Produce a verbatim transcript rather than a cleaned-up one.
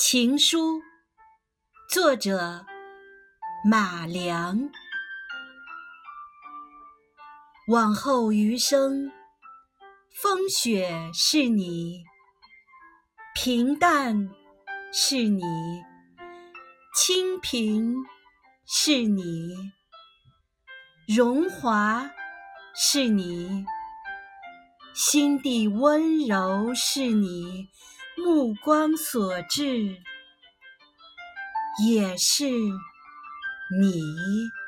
情书，作者马良。往后余生，风雪是你，平淡是你，清贫是你，荣华是你，心地温柔是你，目光所至也是你。